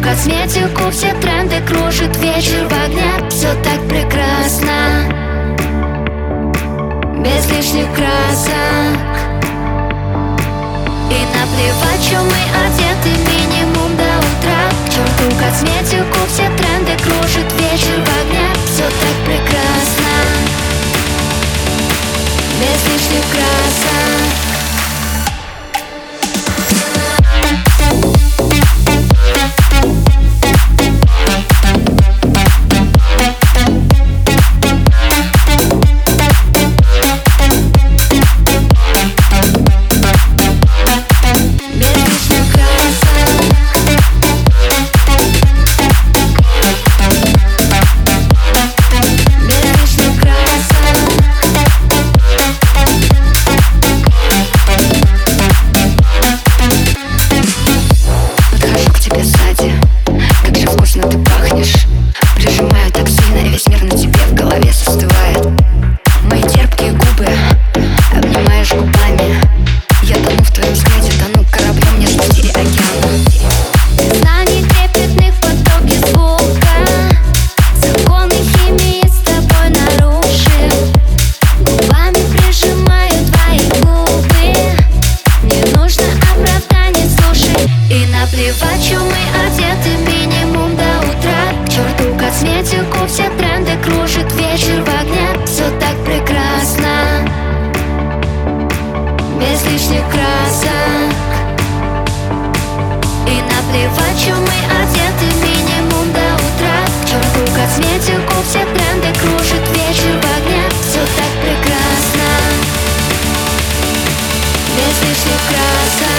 косметику, все тренды кружит вечер в огне. Все так прекрасно, без лишних красок. И наплевать, что мы одеты, минимум до утра. К черту косметику, все тренды кружит вечер в огне. Все так прекрасно, без лишних красок. Как же вкусно ты пахнешь. Прижимаю так сильно, и весь мир на тебе в голове застывает. Мои терпкие губы обнимаешь губами. Я тону в твоем взгляде, тону кораблем, не спустили океан. Знаний трепетных в потоке звука, законы химии с тобой нарушив. Губами прижимаю твои губы. Не нужно оправданий, слушай. И наплевать, что мы одеты, минимум до утра. К черту косметику, все тренды кружит вечер в огне. Все так прекрасно, без лишних красок. И наплевать, что мы одеты, минимум до утра. К черту косметику, все тренды кружит вечер в огне. Все так прекрасно, без лишних красок.